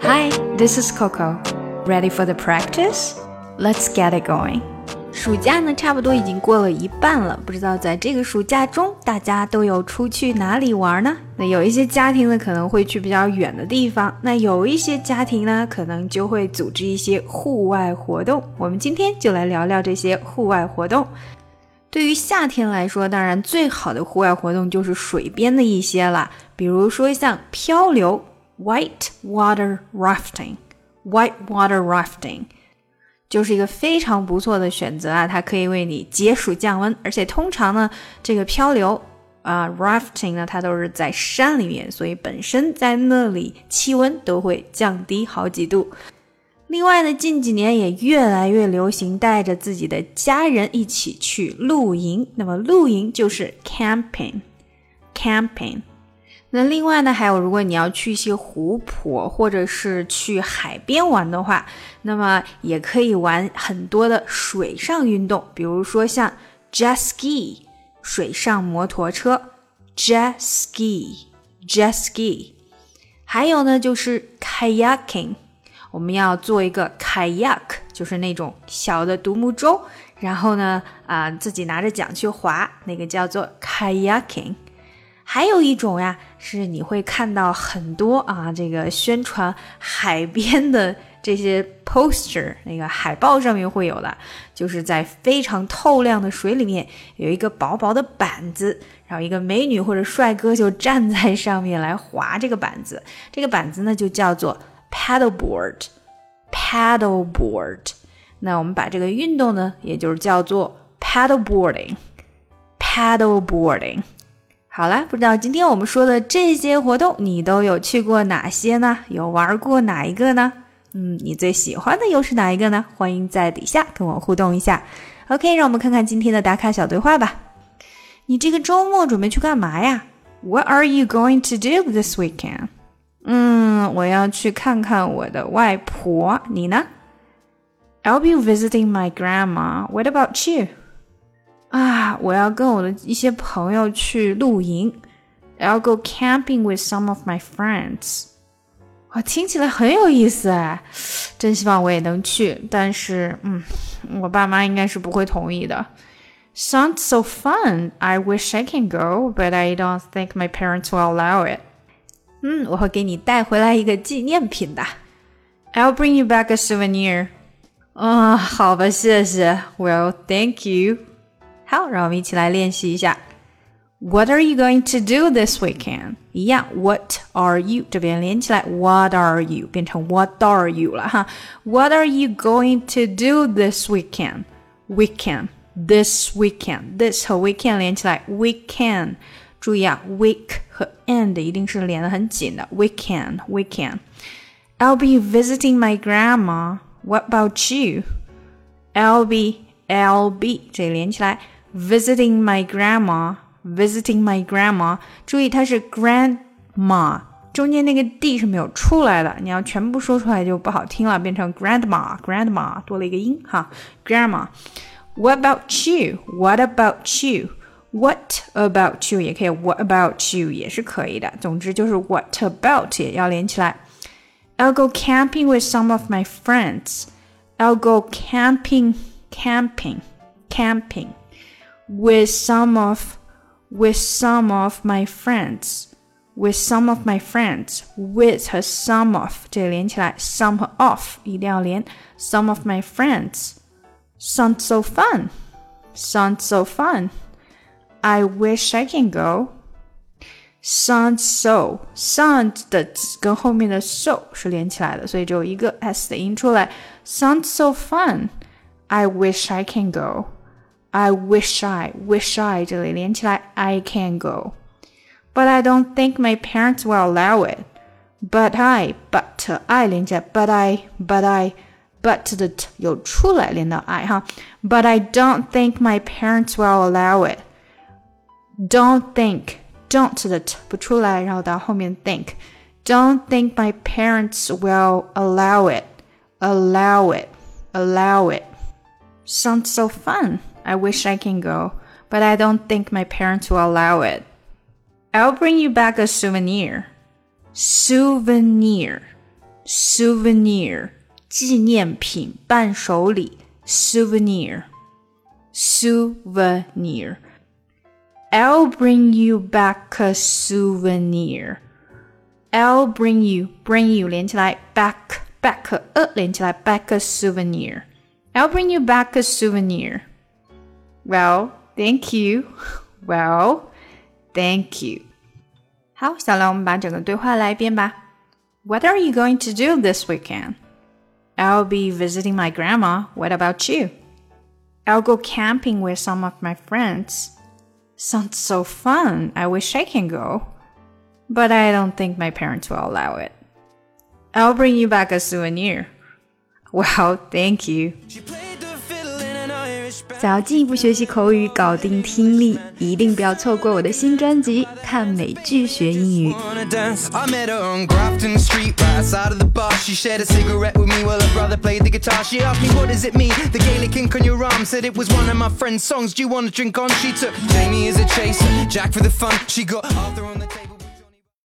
Hi, this is Coco. Ready for the practice? Let's get it going. 暑假呢，差不多已经过了一半了，不知道在这个暑假中，大家都有出去哪里玩呢？那有一些家庭呢，可能会去比较远的地方，那有一些家庭呢，可能就会组织一些户外活动。我们今天就来聊聊这些户外活动。对于夏天来说，当然最好的户外活动就是水边的一些啦，比如说像漂流 White water rafting 就是一个非常不错的选择啊，它可以为你解暑降温，而且通常呢，这个漂流rafting 呢，它都是在山里面，所以本身在那里气温都会降低好几度。另外呢，近几年也越来越流行带着自己的家人一起去露营，那么露营就是 camping。那另外呢，还有如果你要去一些湖泊或者是去海边玩的话，那么也可以玩很多的水上运动，比如说像 jet ski 水上摩托车 jet ski 还有呢就是 kayaking， 我们要做一个 kayak， 就是那种小的独木舟，然后呢自己拿着桨去划，那个叫做 kayaking。还有一种呀，是你会看到很多这个宣传海边的这些 poster， 那个海报上面会有的，就是在非常透亮的水里面有一个薄薄的板子，然后一个美女或者帅哥就站在上面来划这个板子，这个板子呢就叫做 paddleboard。 那我们把这个运动呢也就是叫做 paddleboarding。好啦，不知道今天我们说的这些活动你都有去过哪些呢？有玩过哪一个呢？你最喜欢的又是哪一个呢？欢迎在底下跟我互动一下。 OK， 让我们看看今天的打卡小对话吧。你这个周末准备去干嘛呀？ What are you going to do this weekend? 我要去看看我的外婆，你呢？ I'll be visiting my grandma. What about you?我要跟我的一些朋友去露营。I'll go camping with some of my friends. 听起来很有意思哎，真希望我也能去，但是我爸妈应该是不会同意的。Sounds so fun. I wish I can go, but I don't think my parents will allow it. 我会给你带回来一个纪念品的。I'll bring you back a souvenir. 好吧，谢谢。Well, thank you.好，让我们一起来练习一下。What are you going to do this weekend? 一样 What are you 这边连起来 What are you 变成 What are you 了哈。What are you going to do this weekend? This weekend This 和 weekend 连起来 Weekend 注意啊 Week 和 end 一定是连得很紧的 Weekend I'll be visiting my grandma. What about you? I'll be 这里连起来Visiting my grandma. 注意它是 grandma 中间那个 d 是没有出来的，你要全部说出来就不好听了，变成 grandma 多了一个音哈 grandma. What about you? What about you 也可以 What about you 也是可以的，总之就是 What about 也要连起来。I'll go camping with some of my friends. I'll go camping with some of my friends. With和 some of 这里连起来 some 和 of 一定要连 some of my friends. Sounds so fun. I wish I can go. Sounds 的跟后面的 so 是连起来的，所以只有一个 s 的音出来 Sounds so fun. I wish I can go. I wish I 这里连起来 I can go. But I don't think my parents will allow it. But I 连起来 but 的 t 有出来连到 I 哈 But I don't think my parents will allow it. Don't 的 t 不出来，然后到后面 think. Don't think my parents will allow it. Sounds so fun. I wish I can go, but I don't think my parents will allow it. I'll bring you back a souvenir. souvenir 纪念品伴手礼 souvenir I'll bring you back a souvenir I'll bring you 连起来 back 连起来 back a souvenir I'll bring you back a souvenir Well, thank you Well, thank you 好，小亮，我们把整个对话来一遍吧。What are you going to do this weekend? I'll be visiting my grandma. What about you? I'll go camping with some of my friends. Sounds so fun. I wish I can go. But I don't think my parents will allow it. I'll bring you back a souvenir. Well, thank you. 想要进一步学习口语，搞定听力，一定不要错过我的新专辑《看美剧学英语》。 I met her on Grafton Street, right outside of the bar. She shared a cigarette with me while her brother played the guitar. She asked me, what does it mean? The Gaelic ink on your arm said it was one of my friend's songs. Do you want to drink on? She took Jamie as a chaser, Jack for the fun. She got Arthur on the